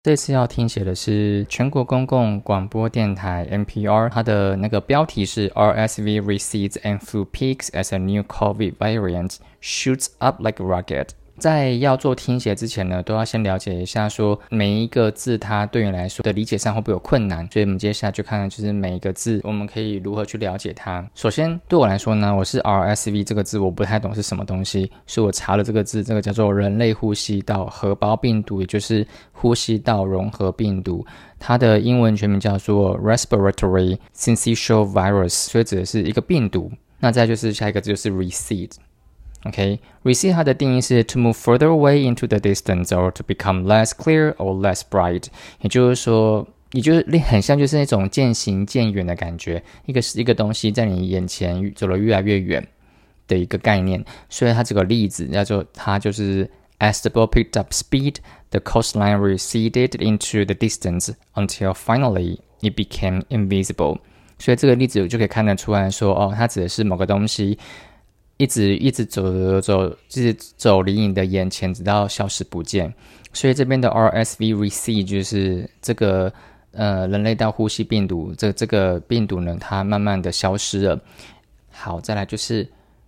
这次要听写的是全国公共广播电台 NPR， 它的那个标题是 RSV recedes and flu peaks as a new COVID variant shoots up like a rocket。在要做听写之前呢，都要先了解一下说每一个字它对你来说的理解上会不会有困难，所以我们接下来就看看就是每一个字我们可以如何去了解它。首先对我来说呢，我是 RSV 这个字我不太懂是什么东西，所以我查了这个字，这个叫做人类呼吸道合胞病毒，也就是呼吸道融合病毒，它的英文全名叫做 Respiratory Syncytial Virus， 所以指的是一个病毒。那再就是下一个字就是 recede。recede 它的定义是 to move further away into the distance or to become less clear or less bright， 也就是说，也就是很像就是那种渐行渐远的感觉，一个东西在你眼前走得越来越远的一个概念。所以它这个例子它就是 as the boat picked up speed, the coastline receded into the distance until finally it became invisible。所以这个例子我就可以看得出来说，它指的是某个东西一直走离你的眼前，直到消失不见。所以这边的 RSV recede 就是这个人类道呼吸病毒，这个病毒呢，它慢慢的消失了。好，再来就是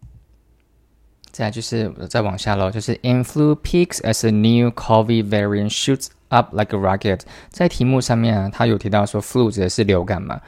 再往下咯，就是 influ peaks as a new COVID variant shoots up like a rocket。 在题目上面它有提到说 flu 指的是流感嘛，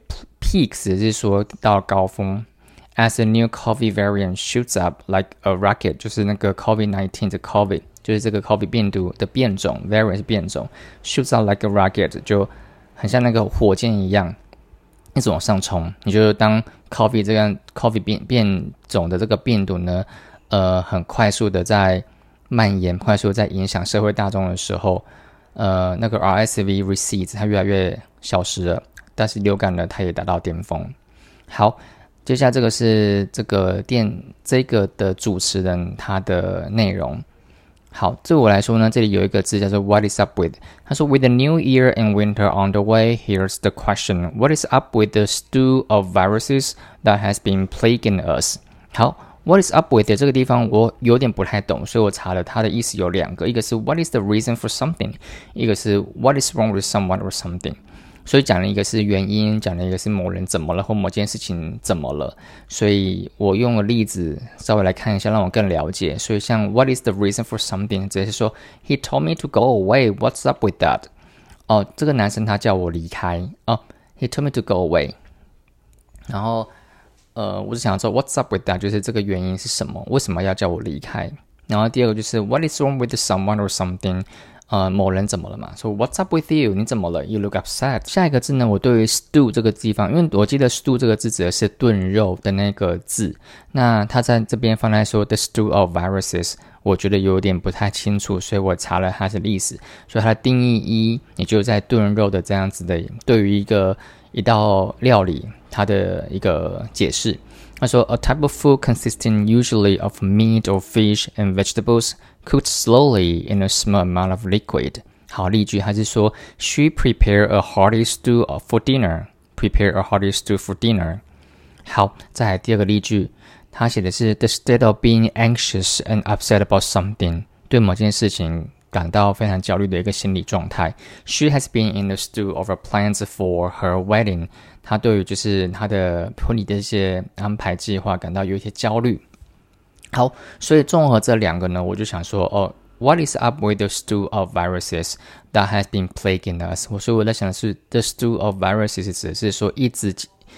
peaks 只是说到高峰， as a new COVID variant shoots up like a rocket 就是那个 COVID-19 的 COVID， 就是这个 COVID 病毒的变种， variant 是变种， shoots up like a rocket 就很像那个火箭一样一直往上冲。你就当 COVID 这样 COVID 变种的这个病毒呢很快速的在蔓延，快速在影响社会大众的时候，那个 RSV recedes 它越来越消失了，但是流感呢它也达到巅峰。好，接下来这个是这个的主持人他的内容。好，对我来说呢，这里有一个字叫做 What is up with？ 他说 With the new year and winter on the way, here's the question. What is up with the stew of viruses that has been plaguing us? 好，What is up with 这个地方我有点不太懂，所以我查了它的意思有两个，一个是 What is the reason for something， 一个是 What is wrong with someone or something。 所以讲了一个是原因，讲了一个是某人怎么了或某件事情怎么了，所以我用了例子稍微来看一下，让我更了解。所以像 What is the reason for something 直接是说 He told me to go away, what's up with that？ 这个男生他叫我离开He told me to go away。 然后我是想说 What's up with that 就是这个原因是什么，为什么要叫我离开。然后第二个就是 What is wrong with someone or something， 某人怎么了嘛，说 What's up with you， 你怎么了， You look upset。 下一个字呢，我对于 stew 这个地方，因为我记得 stew 这个字指的是炖肉的那个字，那他在这边放在说 the stew of viruses， 我觉得有点不太清楚，所以我查了它的历史，所以它的定义一也就在炖肉的这样子的对于一道料理它的一个解释。他说 A type of food consisting usually of meat or fish and vegetables cooked slowly in a small amount of liquid。 好，例句还是说 She prepared a hearty stew for dinner。 Prepare a hearty stew for dinner。 好，再来第二个例句，他写的是 The state of being anxious and upset about something， 对某件事情感到非常焦虑的一个心理状态。 She has been in the stew over plans for her wedding。 她对于就是她的婚礼的一些安排计划感到有一些焦虑。好，所以综合这两个呢，我就想说What is up with the stew of viruses that has been plaguing us？ 所以我在想的是 The stew of viruses 指的是说一直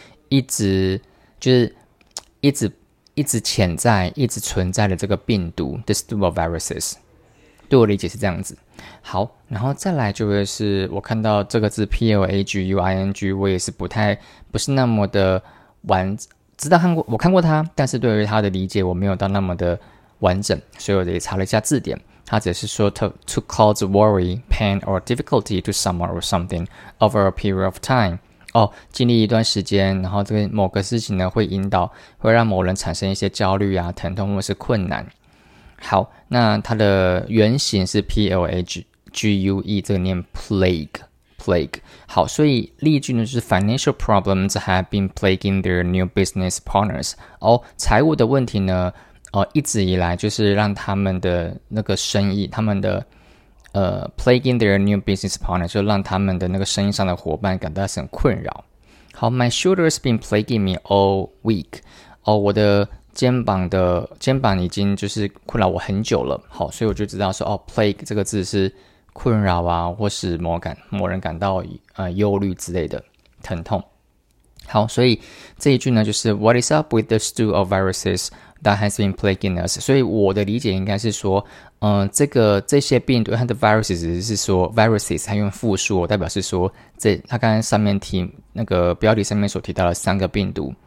潜在一直存在的这个病毒 The stew of viruses，对我理解是这样子。好，然后再来就会是我看到这个字 plaguing， 我也是不是那么的我看过它，但是对于它的理解我没有到那么的完整，所以我也查了一下字典，它只是说 to cause worry, pain or difficulty to someone or something over a period of time。经历一段时间，然后这个某个事情呢会让某人产生一些焦虑啊、疼痛或是困难。好，那它的原型是 plague， 这个念 plague。好，所以例句呢就是 Financial problems have been plaguing their new business partners。 财务的问题呢一直以来就是让他们的那个生意，他们的 plaguing their new business partner， 就让他们的那个生意上的伙伴感到很困扰。好 ，My shoulders been plaguing me all week。我的肩膀已经就是困扰我很久了。好，所以我就知道说plague 这个字是困扰啊，或是某人感到忧虑之类的疼痛。好，所以这一句呢就是 What is up with the stew of viruses that has been plaguing us？ 所以我的理解应该是说，这些病毒它的 viruses 只是说 viruses 它用复数，代表是说它刚才上面那个标题上面所提到的3个病毒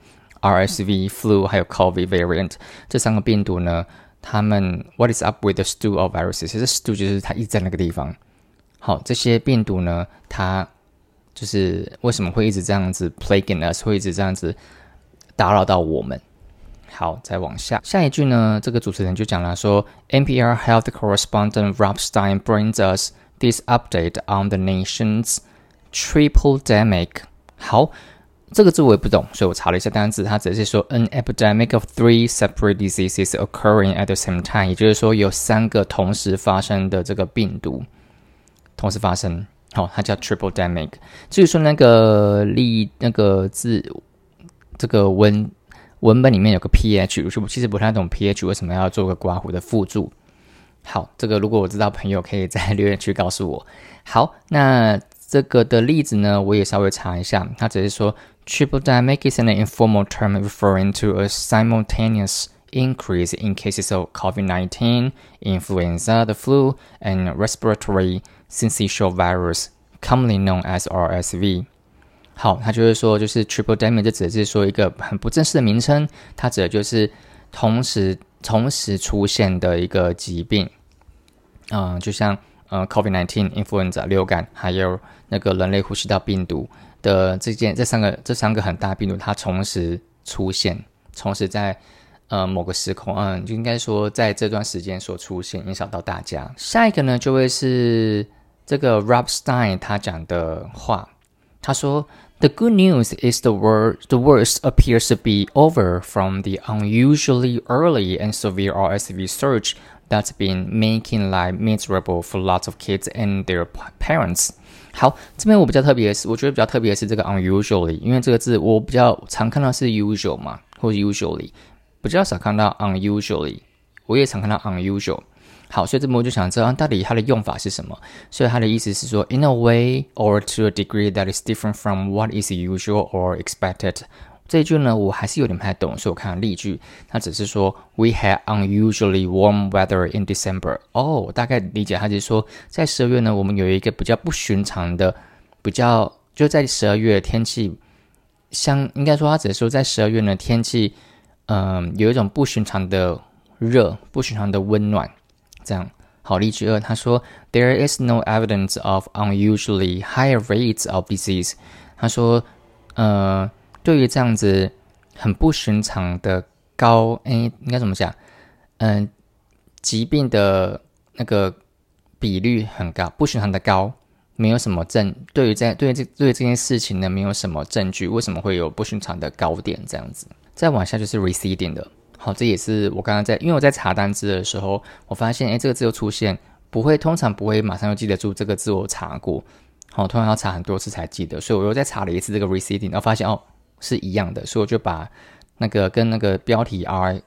RSV、flu 还有 COVID variant 这3个病毒呢，他们 What is up with the stew of viruses？ 其实 stew 就是它一直在那个地方。好，这些病毒呢，它就是为什么会一直这样子 plaguing us， 会一直这样子打扰到我们。好，再往下一句呢，这个主持人就讲了说 NPR Health Correspondent Rob Stein brings us this update on the nation's tripledemic。 好，这个字我也不懂，所以我查了一下单字，它只是说 an epidemic of 3 separate diseases occurring at the same time， 也就是说有3个同时发生的这个病毒同时发生。好，它叫 tripledemic。 至于说那个字，这个文本里面有个 ph， 我其实不太懂 ph 为什么要做个括弧的附注。好，这个如果我知道朋友可以在留言区告诉我。好，那这个的例子呢，我也稍微查一下，它只是说 tripledemic is an informal term referring to a simultaneous increase in cases of COVID-19, influenza, the flu, and respiratory syncytial virus, commonly known as RSV。 好，它就是说，就是 tripledemic 这指的是说一个很不正式的名称，它指的就是同时出现的一个疾病。就像COVID-19、influenza 流感，还有那个人类呼吸道病毒的这三个很大病毒，它同时出现，同时在某个时空，就应该说在这段时间所出现，影响到大家。下一个呢，就会是这个 Rob Stein 他讲的话，他说 The good news is the worst appears to be over from the unusually early and severe RSV surge that's been making life miserable for lots of kids and their parents。 好，这边我觉得比较特别的是这个 unusually， 因为这个字我比较常看到是 usual 嘛，或者 usually， 比较少看到 unusually， 我也常看到 unusual。好，所以这边我就想知道到底它的用法是什么。所以它的意思是说 in a way or to a degree that is different from what is usual or expected。 这一句呢我还是有点不太懂，所以我看了例句，它只是说 we had unusually warm weather in December。 我大概理解它就是说在12月呢我们有一个比较不寻常的就在12月天气应该说它只是说在12月呢天气有一种不寻常的热，不寻常的温暖。这样，好，例句2，他说 There is no evidence of unusually higher rates of disease。 他说对于这样子很不寻常的应该怎么讲？疾病的那个比率很高，不寻常的高，没有什么对这件事情呢没有什么证据，为什么会有不寻常的高点这样子？再往下就是 receding 的。好，这也是我刚刚因为我在查单字的时候，我发现这个字又出现，通常不会马上就记得住这个字我查过，好，通常要查很多次才记得，所以我又再查了一次这个 receding， 然后发现是一样的，所以我就把那个跟那个标题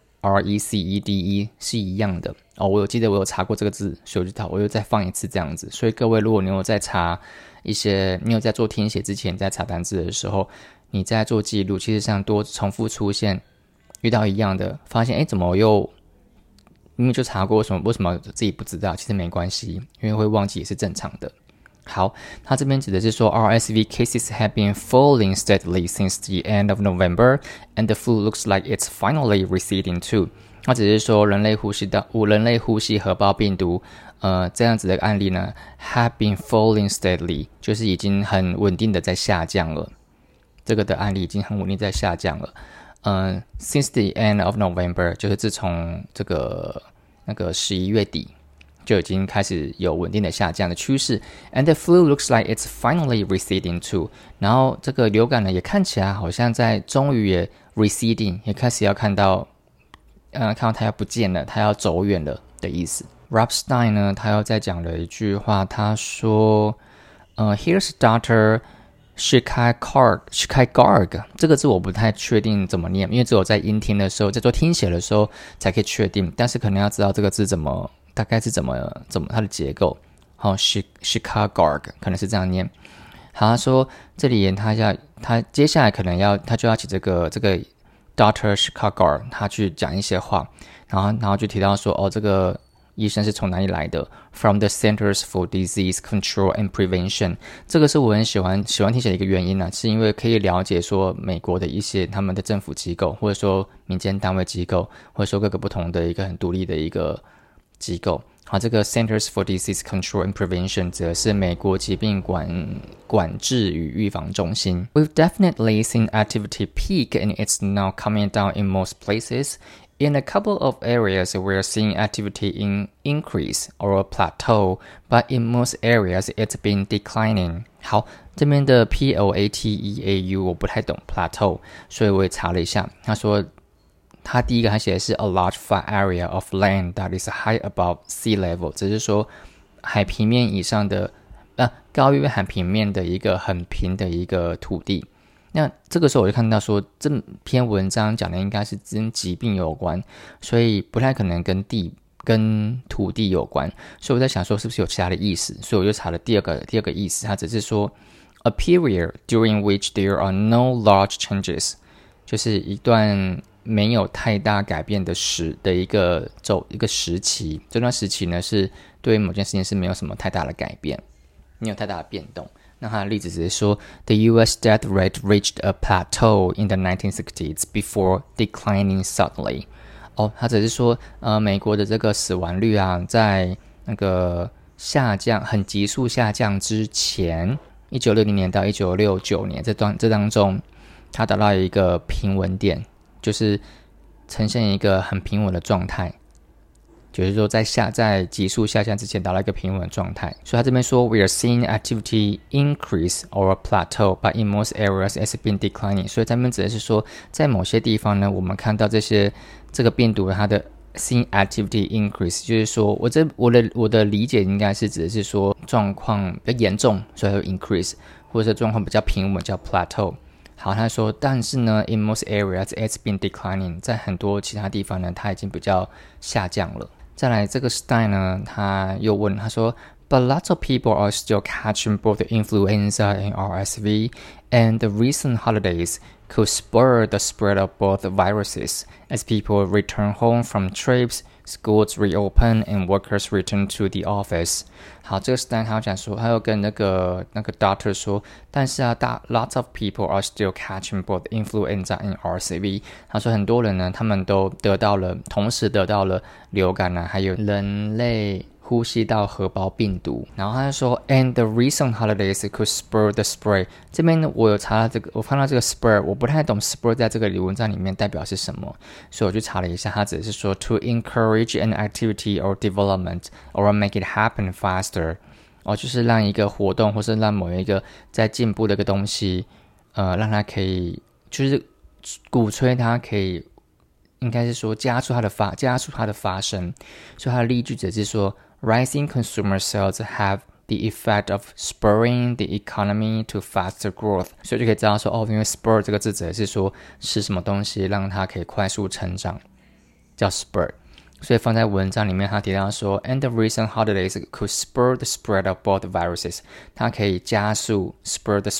recede 是一样的。我有记得我有查过这个字，所以我又再放一次这样子。所以各位，如果你有在查你有在做听写之前在查单字的时候，你在做记录，其实像多重复出现遇到一样的，发现怎么又明明就查过，为什么自己不知道？其实没关系，因为会忘记也是正常的。好，他这边指的是说 RSV cases have been falling steadily since the end of November, and the flu looks like it's finally receding too。 他只是说人类呼吸合胞病毒这样子的案例呢 have been falling steadily， 就是已经很稳定的在下降了，这个的案例已经很稳定在下降了。since the end of November 就是自从那个11月底就已经开始有稳定的下降的趋势。 And the flu looks like it's finally receding too。 然后这个流感呢也看起来好像终于也 receding， 也开始要看到它要不见了，它要走远了的意思。 Rob Stein 呢，他又再讲了一句话，他说Here's Dr. Shikaigarg 这个字我不太确定怎么念，因为只有在音听的时候，在做听写的时候才可以确定，但是可能要知道这个字大概是怎么它的结构。好，Shikaigarg 可能是这样念。好，他说这里他接下来可能他就要请这个 Dr. Shikaigarg 他去讲一些话，然后就提到说这个医生是从哪里来的 ？From the Centers for Disease Control and Prevention。这个是我很喜欢听写的一个原因呢，是因为可以了解说美国的一些他们的政府机构，或者说民间单位机构，或者说各个不同的一个很独立的一个机构。好，这个 Centers for Disease Control and Prevention 指的是美国疾病管制与预防中心。We've definitely seen activity peak and it's now coming down in most places.In a couple of areas, we're seeing activity increase or plateau, but in most areas, it's been declining. 好，这边的 plateau 我不太懂 plateau， 所以我也查了一下。他说，他第一个他写的是 a large flat area of land that is high above sea level， 只是说海平面以上的，高于海平面的一个很平的一个土地。那这个时候我就看到说，这篇文章讲的应该是跟疾病有关，所以不太可能跟土地有关，所以我在想说是不是有其他的意思，所以我就查了第二个意思，它只是说 a period during which there are no large changes， 就是一段没有太大改变的一个时期，这段时期呢是对某件事情是没有什么太大的改变，没有太大的变动。那他的例子只是说 The US death rate reached a plateau in the 1960s before declining suddenly。 他只是说美国的这个死亡率啊，在那个下降很急速下降之前，1960年到1969年这当中，它达到一个平稳点，就是呈现一个很平稳的状态，就是说在急速下降之前达到一个平稳的状态。所以他这边说 We are seeing activity increase or plateau, but in most areas it's been declining。 所以这边指的是说，在某些地方呢，我们看到这个病毒它的 seeing activity increase， 就是说我的理解应该是指的是说状况比较严重，所以会 increase， 或者是状况比较平稳叫 plateau。好，他说，但是呢 ，in most areas it's been declining， 在很多其他地方呢，它已经比较下降了。再来，这个 Stein 呢，他又问，他说 ，But lots of people are still catching both influenza and RSV, and the recent holidays could spur the spread of both viruses as people return home from trips, schools reopen, and workers return to the office。 好，这个 Stein 他讲说，他又跟那个 doctor 说，但是啊，lots of people are still catching both influenza and RSV。 他说很多人呢，他们都同时得到了流感啊，还有人类呼吸道合胞病毒。然后他就说 and the recent holidays could spur the spread。 这边呢，我有查到这个，我看到这个 spur， 我不太懂 spur 在这个文章里面代表是什么，所以我去查了一下，它只是说 to encourage an activity or development or make it happen faster， 就是让一个活动或是让某一个在进步的一个东西，让它可以就是鼓吹它可以，应该是说加速它的发生。所以它的例句只是说 rising consumer sales have the effect of spurring the economy to faster growth。 所以就可以知道说因为 spur 这个字指的是说使什么东西让它可以快速成长，叫 spur。所以放在文章里面，他提到说 and the recent holidays could spur the spread of both viruses。 它可以加速 spur the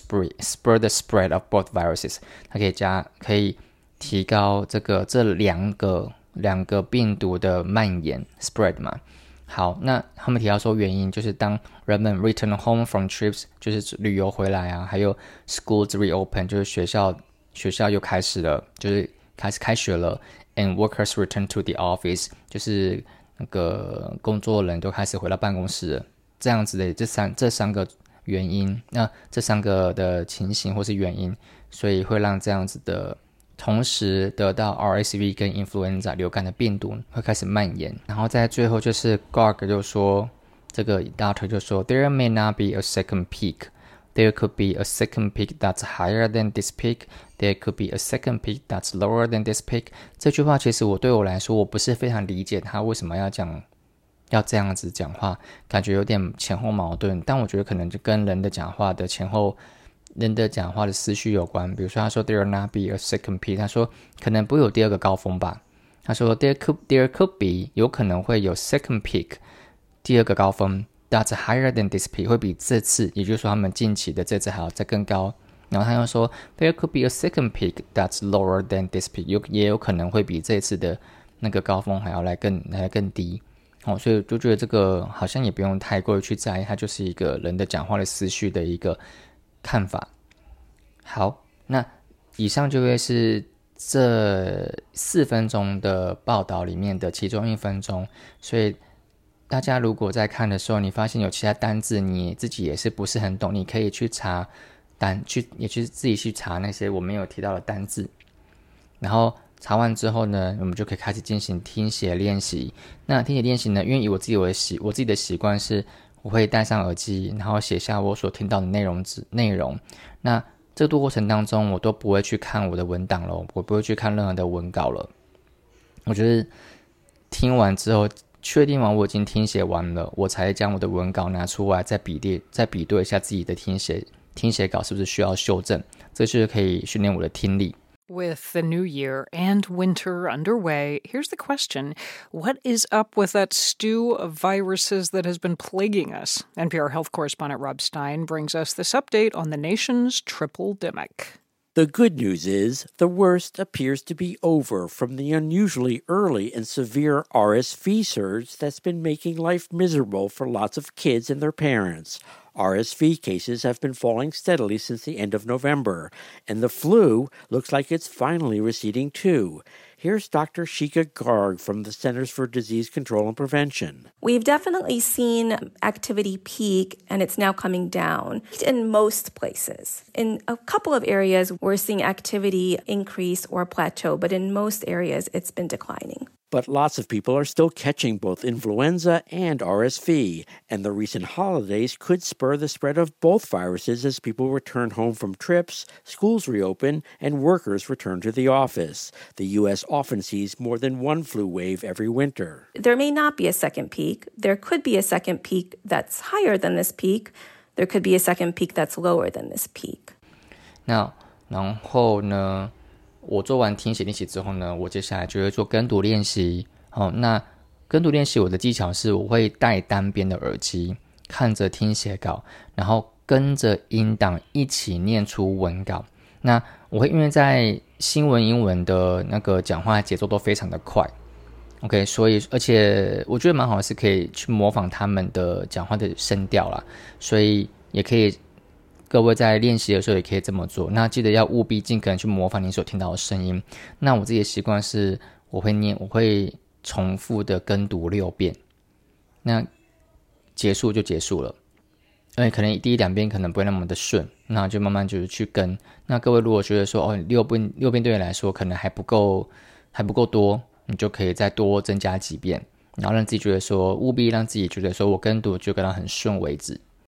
spread of both viruses， 它可以提高这两个病毒的蔓延 spread 嘛。好，那他们提到说原因就是当人们 return home from trips， 就是旅游回来啊，还有 schools reopen， 就是学校又开始了，就是开始开学了， and workers return to the office， 就是那个工作人都开始回到办公室了。这样子的这三个原因，那这三个的情形或是原因，所以会让这样子的同时得到 RSV 跟 influenza 流感的病毒会开始蔓延。然后在最后就是 Garg 就说，这个 doctor 就说 There may not be a second peak. There could be a second peak that's higher than this peak. There could be a second peak that's lower than this peak. 这句话其实对我来说，我不是非常理解他为什么要讲要这样子讲话，感觉有点前后矛盾。但我觉得可能就跟人的讲话的思绪有关。比如说他说 there will not be a second peak， 他说可能不会有第二个高峰吧。他说 there could be 有可能会有 second peak 第二个高峰 that's higher than this peak 会比这次，也就是说他们近期的这次还要再更高。然后他又说 there could be a second peak that's lower than this peak 也有可能会比这次的那个高峰还要来更低。所以就觉得这个好像也不用太过于去在意，它就是一个人的讲话的思绪的一个看法。好，那以上就会是这4分钟的报道里面的其中1分钟，所以大家如果在看的时候，你发现有其他单字你自己也是不是很懂，你可以去查也去自己去查那些我没有提到的单字，然后查完之后呢，我们就可以开始进行听写练习。那听写练习呢，因为以我自己的习惯是，我会戴上耳机，然后写下我所听到的内容。那这个过程当中，我都不会去看我的文档了，我不会去看任何的文稿了。我就是听完之后，确定完我已经听写完了，我才将我的文稿拿出来，再比对一下自己的听写稿是不是需要修正，这就是可以训练我的听力。 With the new year and winter underway, here's the question. What is up with that stew of viruses that has been plaguing us? NPR health correspondent Rob Stein brings us this update on the nation's triple-demic. The good news is the worst appears to be over from the unusually early and severe RSV surge that's been making life miserable for lots of kids and their parents. RSV cases have been falling steadily since the end of November, and the flu looks like it's finally receding too. Here's Dr. Shika Garg from the Centers for Disease Control and Prevention. We've definitely seen activity peak, and it's now coming down in most places. In a couple of areas, we're seeing activity increase or plateau, but in most areas, it's been declining. But lots of people are still catching both influenza and RSV, and the recent holidays could spur the spread of both viruses as people return home from trips, schools reopen, and workers return to the office. The U.S. often sees more than one flu wave every winter. There may not be a second peak. There could be a second peak that's higher than this peak. There could be a second peak that's lower than this peak. 那然后呢？我做完听写练习之后呢，我接下来就会做跟读练习。那跟读练习我的技巧是，我会戴单边的耳机，看着听写稿，然后跟着音档一起念出文稿。那我会因为在新闻英文的那个讲话节奏都非常的快 ，OK， 所以而且我觉得蛮好的是可以去模仿他们的讲话的声调啦，所以也可以。各位在练习的时候也可以这么做，那记得要务必尽可能去模仿你所听到的声音。那我自己的习惯是我会重复的跟读6遍，那结束就结束了。因为可能第1-2遍可能不会那么的顺，那就慢慢就是去跟。那各位如果觉得说6遍对你来说可能还不够多，你就可以再多增加几遍，然后让自己觉得说务必让自己觉得说我跟读就跟到很顺为止。